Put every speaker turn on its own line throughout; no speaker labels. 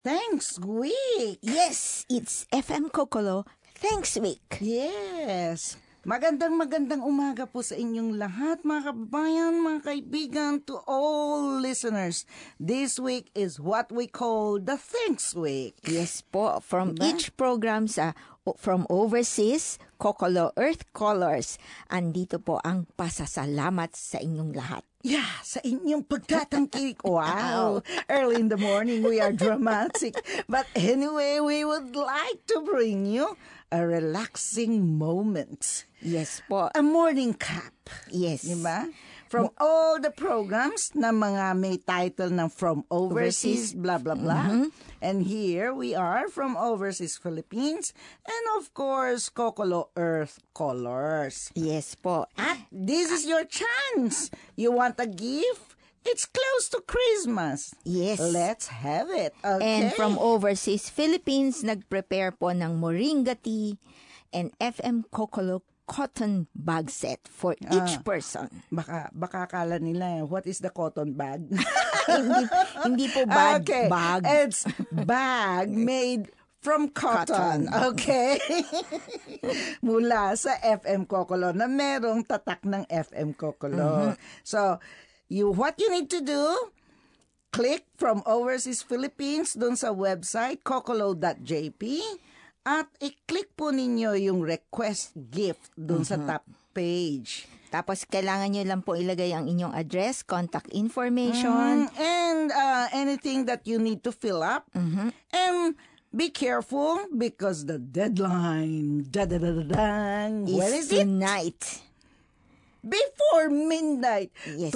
Thanks Week.
Yes, it's FM Kokolo Thanks Week.
Yes. Magandang umaga po sa inyong lahat, mga kababayan, mga kaibigan, to all listeners. This week is what we call the Thanks Week.
Yes po, from each program from overseas, Kokolo Earth Colors, andito po ang pasasalamat sa inyong lahat.
Yeah, sa inyong pagtatangkilik. Wow, early in the morning we are dramatic. But anyway, we would like to bring you a relaxing moment.
Yes po.
A morning cap.
Yes.
Diba? From all the programs na mga may title ng From Overseas, blah, blah, blah. Mm-hmm. And here we are from Overseas Philippines. And of course, Kokolo Earth Colors.
Yes po.
At this is your chance. You want a gift? It's close to Christmas.
Yes.
Let's have it. Okay.
And from Overseas Philippines, nag-prepare po ng Moringa tea and FM Kokolo cotton bag set for each person.
Baka akala nila, what is the cotton bag?
hindi po bag,
okay.
Bag.
It's bag made from cotton. Okay? Mula sa FM Kokolo na merong tatak ng FM Kokolo. Mm-hmm. So, what you need to do, click from Overseas Philippines dun sa website kokolo.jp at i-click po ninyo yung request gift dun sa top page.
Tapos, kailangan nyo lang po ilagay ang inyong address, contact information.
And anything that you need to fill up. Mm-hmm. And be careful because the deadline
is tonight.
Before midnight,
yes,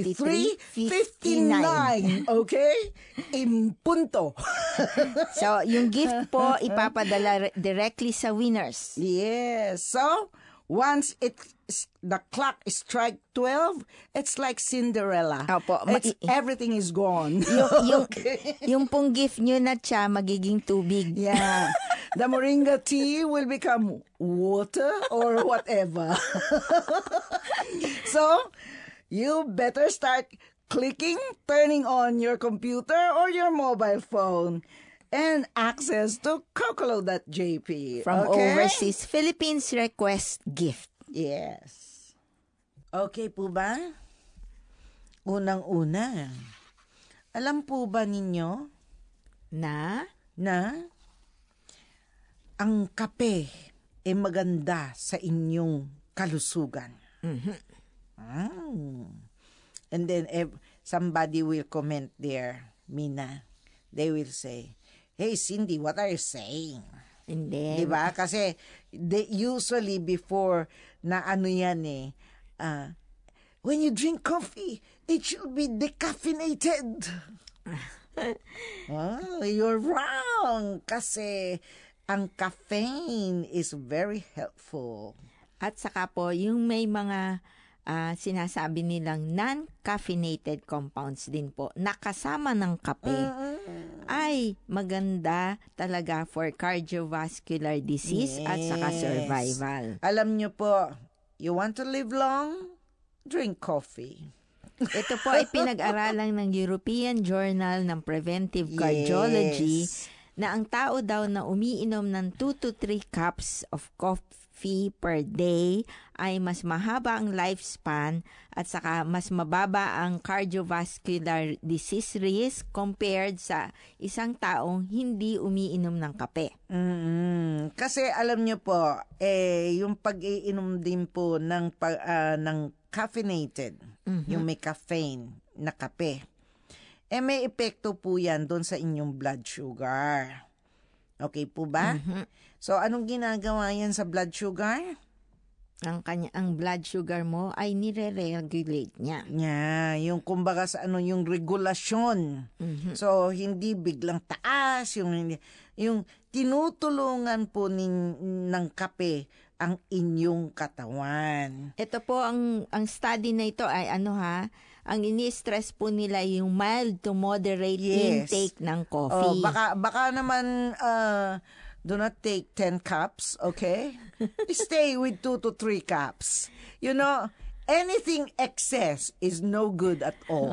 23:59. Okay? In punto.
So, yung gift po, ipapadala directly sa winners.
Yes. So, once the clock strike 12, it's like Cinderella.
Opo,
everything is gone.
Yung pong gift nyo na siya, magiging tubig.
Yeah. The Moringa tea will become water or whatever. So, you better start turning on your computer or your mobile phone and access to kokolo.jp.
From Overseas Philippines request gift.
Yes. Okay po ba? Unang-una, alam po ba ninyo
na
ang kape ay maganda sa inyong kalusugan?
Mm-hmm.
And then somebody will comment there, Mina. They will say, "Hey Cindy, what are you saying?"
Hindi.
Diba? Kasi usually before na yan when you drink coffee, it should be decaffeinated. Oh, you're wrong. Kasi ang caffeine is very helpful.
At saka po, yung may mga sinasabi nilang non-caffeinated compounds din po, nakasama ng kape, ay maganda talaga for cardiovascular disease at saka survival.
Alam nyo po, you want to live long? Drink coffee.
Ito po ay pinag-aralan ng European Journal ng Preventive Cardiology na ang tao daw na umiinom ng 2 to 3 cups of coffee per day ay mas mahaba ang lifespan at saka mas mababa ang cardiovascular disease risk compared sa isang taong hindi umiinom ng kape.
Kasi alam nyo po, yung pag-iinom din po ng caffeinated, yung may caffeine na kape, may epekto po yan doon sa inyong blood sugar. Okay po ba? Mm-hmm. So, anong ginagawa yan sa blood sugar?
Ang blood sugar mo ay nire-regulate niya.
Yeah, yung kumbaga sa yung regulasyon. Mm-hmm. So, hindi biglang taas, yung tinutulungan po ng kape ang inyong katawan.
Ito po, ang study na ito ay ang ini-stress po nila yung mild to moderate intake ng coffee.
Baka naman do not take 10 cups, okay? Stay with 2 to 3 cups. You know, anything excess is no good at all.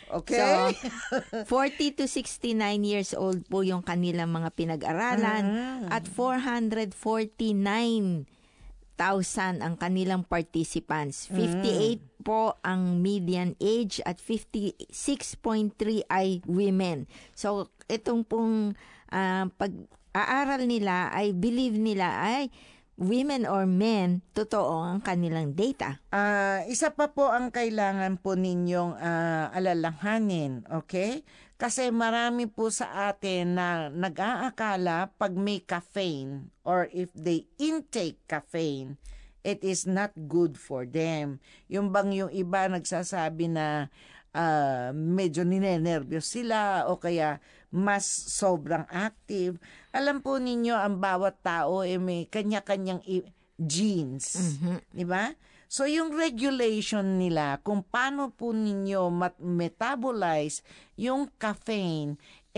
Okay?
So, 40 to 69 years old po yung kanilang mga pinag-aralan at 449,000 ang kanilang participants. 58 po ang median age at 56.3 ay women. So, itong pong pag-aaral nila ay believe nila ay women or men, totoo ang kanilang data.
Isa pa po ang kailangan po ninyong alalahanin, okay? Kasi marami po sa atin na nag-aakala pag may caffeine or if they intake caffeine, it is not good for them. Yung bang yung iba nagsasabi na medyo ninenervyos sila o kaya mas sobrang active. Alam po ninyo, ang bawat tao may kanya-kanyang genes. Di ba? So, yung regulation nila, kung paano po ninyo metabolize yung caffeine,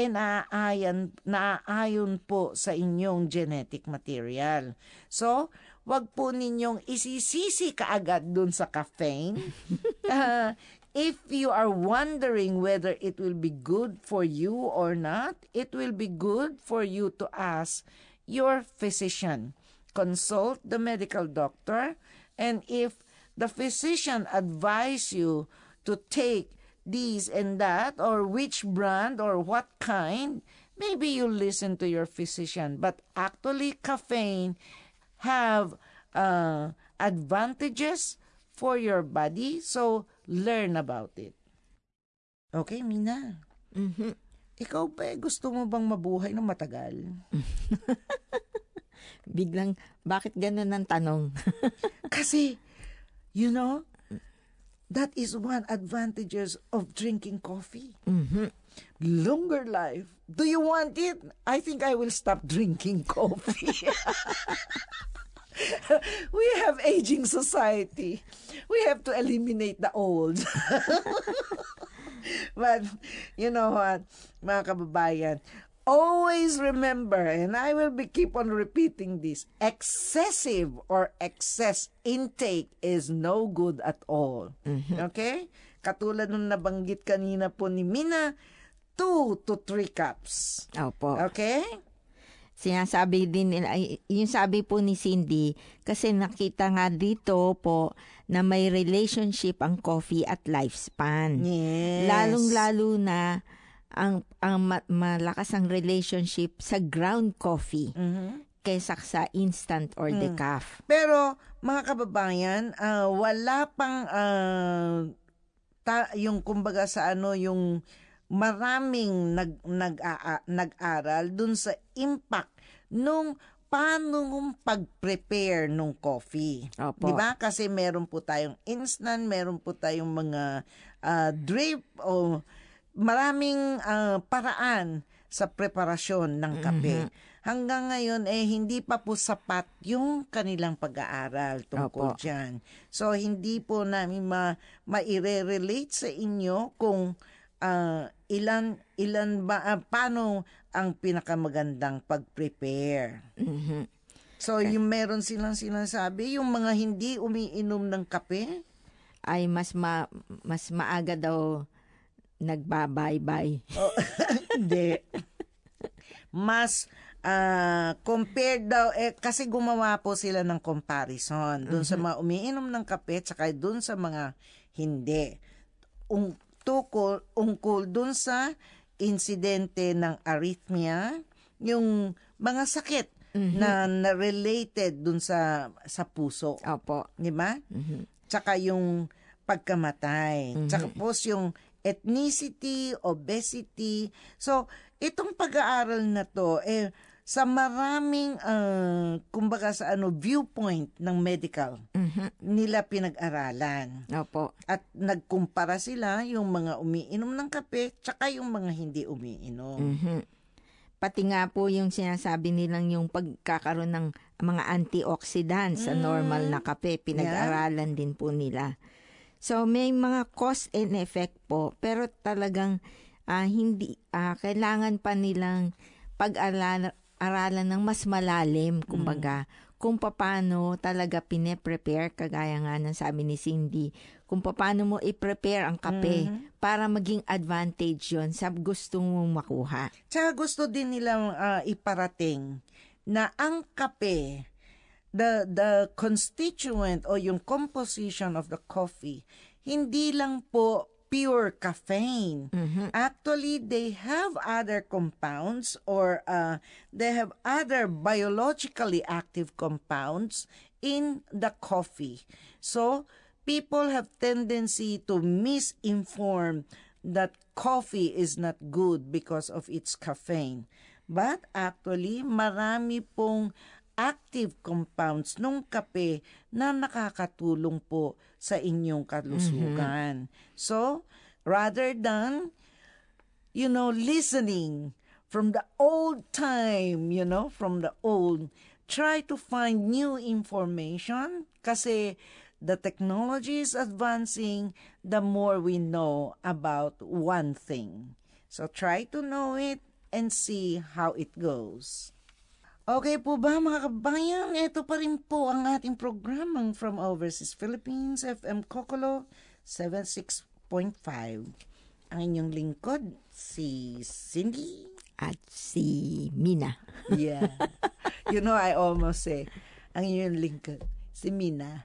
naaayon po sa inyong genetic material. So, wag po ninyong isisisi kaagad dun sa caffeine. If you are wondering whether it will be good for you or not, it will be good for you to ask your physician. Consult the medical doctor, and if the physician advise you to take this and that, or which brand or what kind, maybe you listen to your physician. But actually, caffeine have advantages for your body, so learn about it. Okay, Mina? Ikaw ba, gusto mo bang mabuhay ng matagal?
Biglang, bakit ganun ang tanong?
Kasi, you know, that is one advantages of drinking coffee. Longer life. Do you want it? I think I will stop drinking coffee. We have aging society. We have to eliminate the old. But, you know what, mga kababayan, always remember, and I will keep on repeating this, excessive or excess intake is no good at all. Okay? Katulad nung nabanggit kanina po ni Mina, 2 to 3 cups.
Opo.
Okay?
Sinasabi din nila, yung sabi po ni Cindy, kasi nakita nga dito po na may relationship ang coffee at lifespan.
Yes.
Lalong-lalo na ang malakas ang relationship sa ground coffee kaysa sa instant or decaf.
Pero, mga kababayan, wala pang yung kumbaga sa yung maraming nag-aral dun sa impact nung paano pag-prepare nung coffee. Opo. 'Di ba? Kasi meron po tayong instant, meron po tayong mga drip o maraming paraan sa preparasyon ng kape. Hanggang ngayon hindi pa po sapat yung kanilang pag-aaral tungkol diyan. So hindi po namin ma-relate sa inyo kung ilan ba paano ang pinakamagandang pag-prepare. So yung meron silang sinasabi, yung mga hindi umiinom ng kape
ay mas maaga daw nagbabay-bye.
Hindi. Mas compared daw kasi gumawa po sila ng comparison doon sa mga umiinom ng kape at doon sa mga hindi. Ungkol dun sa insidente ng arrhythmia, yung mga sakit na related dun sa puso.
Opo.
Di ba? Tsaka yung pagkamatay. Tsaka po yung ethnicity, obesity. So, itong pag-aaral na to, sa maraming, kumbaga sa viewpoint ng medical, nila pinag-aralan.
Opo.
At nagkumpara sila yung mga umiinom ng kape tsaka yung mga hindi umiinom.
Pati nga po yung sinasabi nilang yung pagkakaroon ng mga antioxidants sa normal na kape, pinag-aralan din po nila. So may mga cause and effect po, pero talagang hindi kailangan pa nilang pag-aralan ng mas malalim, kumbaga, kung paano talaga pine-prepare, kagaya nga ng sabi ni Cindy, kung paano mo i-prepare ang kape para maging advantage yon sa gusto mong makuha.
Tsaka gusto din nilang iparating na ang kape, the constituent o yung composition of the coffee, hindi lang po pure caffeine. Actually, they have other compounds or they have other biologically active compounds in the coffee. So, people have tendency to misinform that coffee is not good because of its caffeine. But actually, marami pong active compounds nung kape na nakakatulong po sa inyong kalusugan. So, rather than, listening from the old time, from the old, try to find new information kasi the technology is advancing, the more we know about one thing. So, try to know it and see how it goes. Okay po ba mga kabayan? Ito pa rin po ang ating programang From Overseas Philippines, FM Kokolo 76.5. Ang inyong lingkod, si Cindy.
At si Mina.
Yeah. I almost say, ang inyong lingkod, si Mina.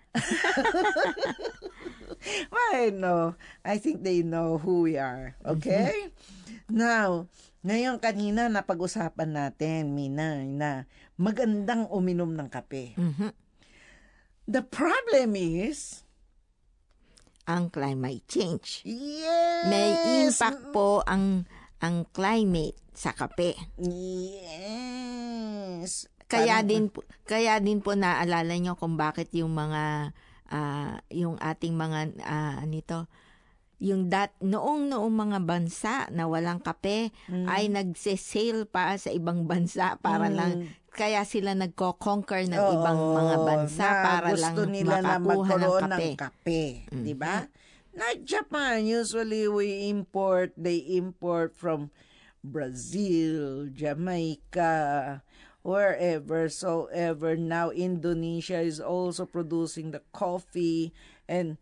Well, I know. I think they know who we are. Okay? Now, ngayon kanina napag-usapan natin, Mina, na magandang uminom ng kape. The problem is
ang climate change.
Yes!
May impact po ang climate sa kape.
Yes!
Kaya din po naalala nyo kung bakit yung mga yung ating mga noong mga bansa na walang kape ay nagse-sail pa sa ibang bansa para lang, kaya sila nagko-conquer ng ibang mga bansa para lang makakuha ng kape.
Diba? Like Japan, usually they import from Brazil, Jamaica, wherever, soever. Now Indonesia is also producing the coffee, and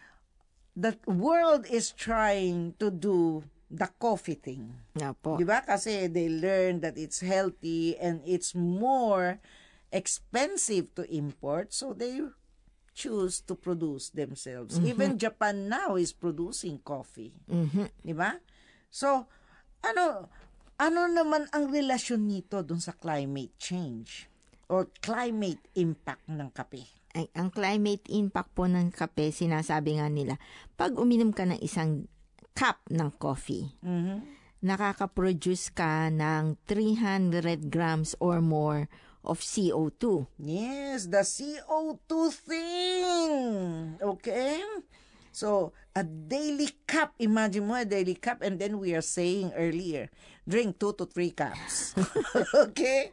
the world is trying to do the coffee thing.
Opo.
Diba? Kasi they learn that it's healthy and it's more expensive to import, so they choose to produce themselves. Even Japan now is producing coffee. Diba? So, ano naman ang relasyon nito dun sa climate change or climate impact ng kape?
Ang climate impact po ng kape, sinasabi nga nila, pag uminom ka ng isang cup ng coffee, nakaka-produce ka ng 300 grams or more of CO2.
Yes, the CO2 thing. Okay? So, a daily cup, imagine mo a daily cup, and then we are saying earlier, drink 2 to 3 cups. Okay?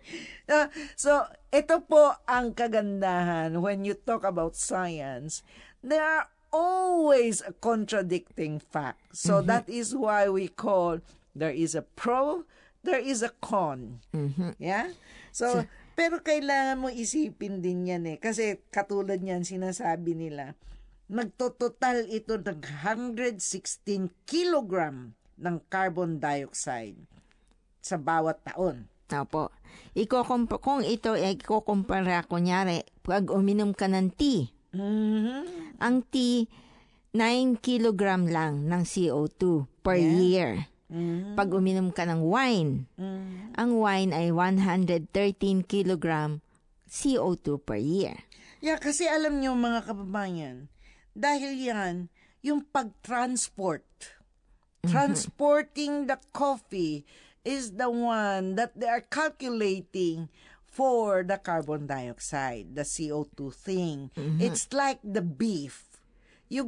So, ito po ang kagandahan when you talk about science. There are always a contradicting fact. So, that is why we call, there is a pro, there is a con. Yeah? So, pero kailangan mo isipin din yan kasi katulad niyan sinasabi nila, magtototal ito ng 116 kilogram ng carbon dioxide sa bawat taon.
Opo. Kung ito ay ikukumpara, kunyari, pag uminom ka ng tea, ang tea, 9 kilogram lang ng CO2 per year. Pag uminom ka ng wine, ang wine ay 113 kilogram CO2 per year.
Yeah, kasi alam niyo mga kababayan, dahil yan, yung pag-transport, transporting the coffee is the one that they are calculating for the carbon dioxide, the CO2 thing. It's like the beef. You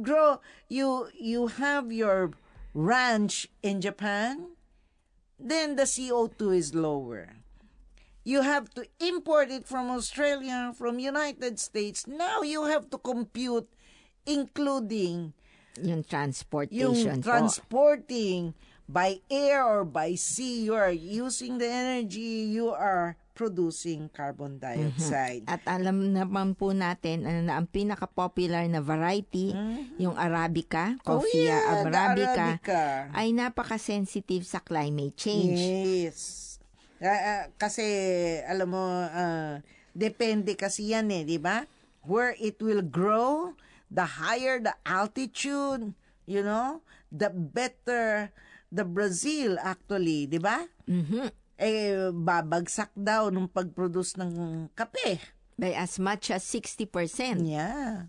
have your ranch in Japan, then the CO2 is lower. You have to import it from Australia, from United States. Now you have to compute including
yung transportation
transporting by air or by sea. You are using the energy, you are producing carbon dioxide.
At alam naman po natin na ang pinaka-popular na variety, yung Arabica, Coffea
the
Arabica,
Arabica.
ay napaka-sensitive sa climate change.
Yes. Kasi, alam mo, depende kasi yan di ba? Where it will grow, the higher the altitude, the better the Brazil actually, di ba? Babagsak daw nung pag-produce ng kape.
By as much as 60%.
Yeah.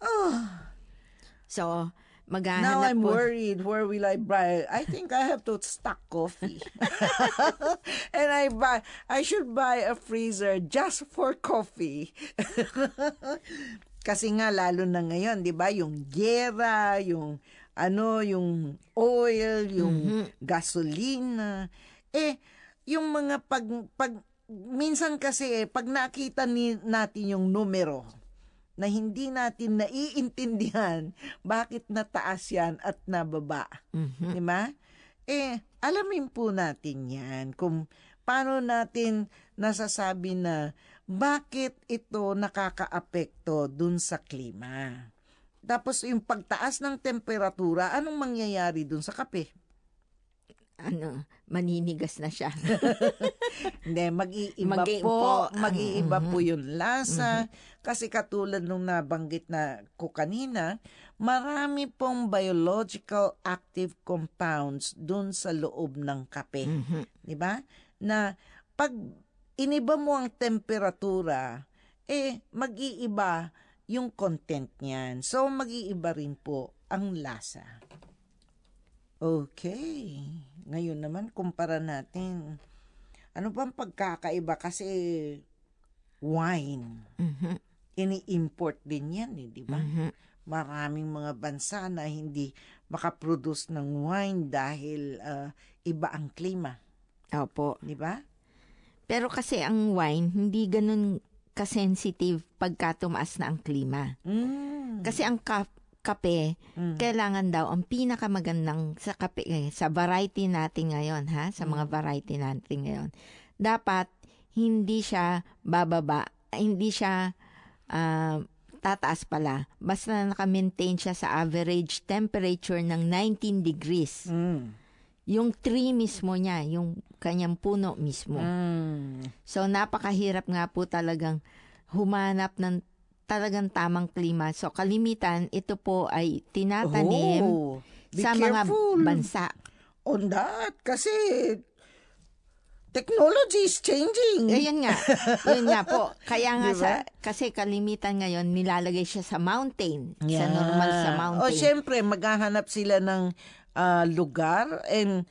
So,
Now
maghahanap
I'm
po.
worried. Where will I buy? I think I have to stock coffee. And I should buy a freezer just for coffee. Kasi nga lalo na ngayon, 'di ba, yung gera, yung oil, yung gasolina. Yung mga minsan kasi pag nakita natin yung numero na hindi natin naiintindihan bakit nataas yan at nababa. Di ba? Alamin po natin yan kung paano natin nasasabi na bakit ito nakakaapekto dun sa klima. Tapos yung pagtaas ng temperatura, anong mangyayari dun sa kape?
Maninigas na siya.
Hindi, mag-iiba po yung lasa. Kasi katulad nung nabanggit na ko kanina, marami pong biological active compounds dun sa loob ng kape. Di ba? Na pag iniba mo ang temperatura, mag-iiba yung content niyan. So, mag-iiba rin po ang lasa. Okay. Ngayon naman, kumpara natin. Ano bang pagkakaiba? Kasi wine. Ini-import din yan, di ba? Maraming mga bansa na hindi makaproduce ng wine dahil iba ang klima.
Opo.
Di ba?
Pero kasi ang wine, hindi ganun kasensitive pagka tumaas na ang klima. Kasi ang kape, kailangan daw, ang pinakamagandang sa kape, sa variety natin ngayon, sa mga variety natin ngayon, dapat hindi siya bababa, hindi siya tataas pala. Basta naka-maintain siya sa average temperature ng 19 degrees. Yung tree mismo niya, yung kanyang puno mismo. So, napakahirap nga po talagang humanap ng talagang tamang klima. So, kalimitan, ito po ay tinatanim sa mga bansa.
On that, kasi technology is changing.
Yun nga po. Kaya nga,
diba?
kasi kalimitan ngayon, nilalagay siya sa mountain. Sa normal sa mountain.
O, syempre, maghahanap sila ng lugar and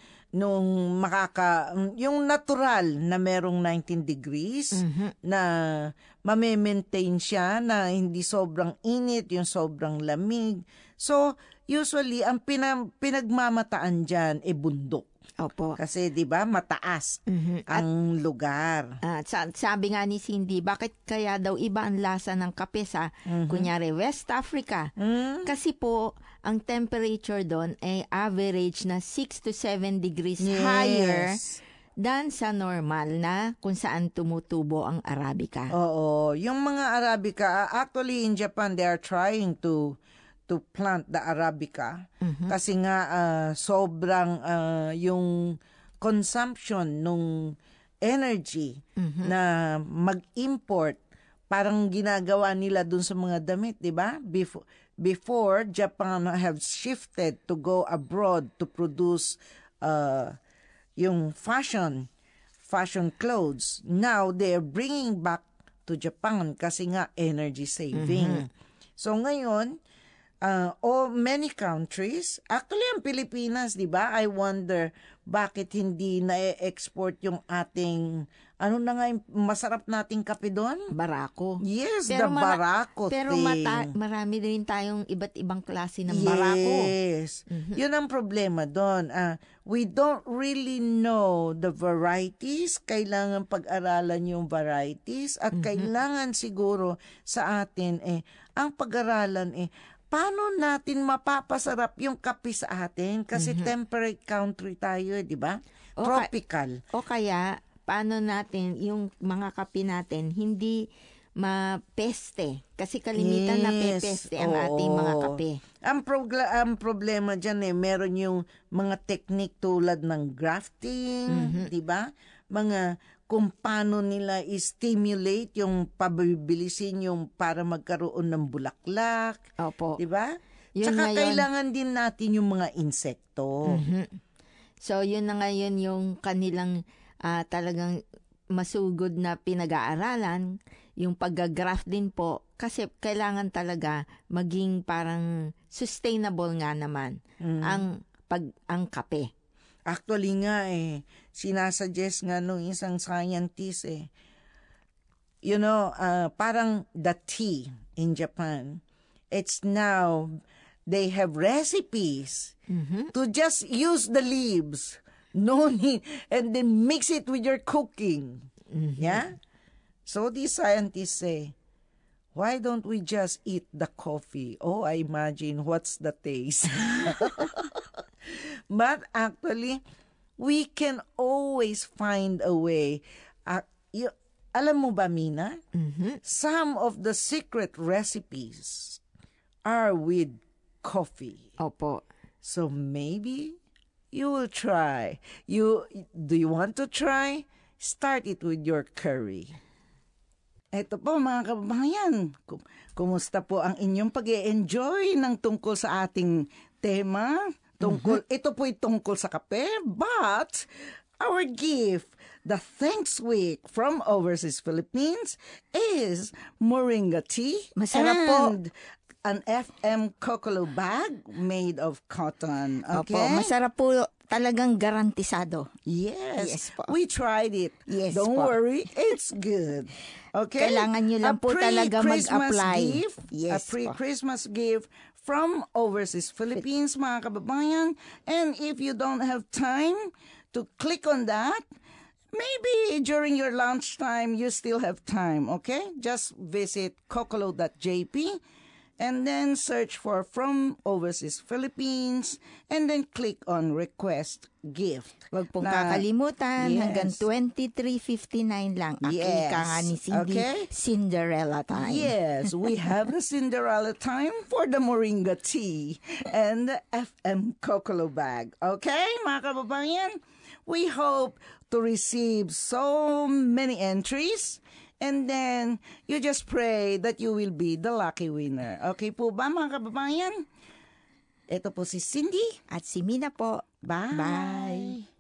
yung natural na merong 19 degrees na mame-maintain siya na hindi sobrang init, yung sobrang lamig. So, usually, ang pinagmamataan dyan bundok.
Opo.
Kasi, di ba, mataas ang lugar.
Sabi nga ni Cindy, bakit kaya daw iba ang lasa ng kape sa, kunyari, West Africa? Kasi po, ang temperature doon ay average na 6 to 7 degrees higher than sa normal na kung saan tumutubo ang Arabica.
Oo. Yung mga Arabica, actually in Japan, they are trying to plant the Arabica. Kasi nga sobrang yung consumption nung energy na mag-import, parang ginagawa nila dun sa mga damit, di ba? Before, Japan have shifted to go abroad to produce yung fashion clothes. Now, they're bringing back to Japan kasi nga energy saving. So, ngayon, many countries, actually ang Pilipinas, di ba? I wonder bakit hindi na-export yung ating, ano na nga yung masarap nating kape doon?
Barako.
Yes, pero the barako
pero
thing.
marami rin tayong iba't ibang klase ng barako.
Yes. Yun ang problema doon. We don't really know the varieties. Kailangan pag-aralan yung varieties at kailangan siguro sa atin ang pag-aralan paano natin mapapasarap yung kape sa atin? Kasi temperate country tayo, di ba? Tropical.
O kaya, paano natin, yung mga kape natin, hindi mapeste. Kasi kalimitan na pepeste ang ating mga kape.
Ang problema dyan meron yung mga technique tulad ng grafting, di ba? Mga kung paano nila i-stimulate yung pabibilisin yung para magkaroon ng bulaklak.
Opo.
Di ba?
Yun
Tsaka
ngayon,
kailangan din natin yung mga insekto.
So, yun na ngayon yung kanilang talagang masugod na pinag-aaralan, yung pag-graft din po, kasi kailangan talaga maging parang sustainable nga naman ang kape.
Actually nga sinasuggest nga nung isang scientist parang the tea in Japan, it's now, they have recipes to just use the leaves, no need, and then mix it with your cooking. Yeah? So these scientists say, why don't we just eat the coffee? Oh, I imagine what's the taste. But actually, we can always find a way. Alam mo ba, Mina? Some of the secret recipes are with coffee.
Opo.
So maybe you will try. Do you want to try? Start it with your curry. Eto po mga kababayan, kumusta po ang inyong pag-e-enjoy ng tungkol sa ating tema? Ito po'y tungkol sa kape, but our gift, the Thanks Week from Overseas Philippines, is moringa tea.
Masarap po.
And an FM Kokolo bag made of cotton. Okay?
Opo, masarap po, talagang garantisado.
Yes
po.
We tried it.
Yes
Don't
po.
worry, it's good. Okay?
Kailangan nyo lang po talaga mag-apply.
A pre-Christmas gift from Overseas Philippines, mga kababayan. And if you don't have time to click on that, maybe during your lunchtime, you still have time, okay? Just visit kokolo.jp and then search for From Overseas Philippines and then click on Request Gift.
Huwag pong kakalimutan,
yes.
hanggang 23.59 lang.
Yes.
Ika nga ni Cindy,
Okay.
Cinderella time.
Yes, we have the Cinderella time for the moringa tea and the FM Kokolo bag. Okay, mga kababayan? We hope to receive so many entries. And then, you just pray that you will be the lucky winner. Okay po ba, mga kababayan? Ito po si Cindy.
At si Mina po.
Bye.
Bye.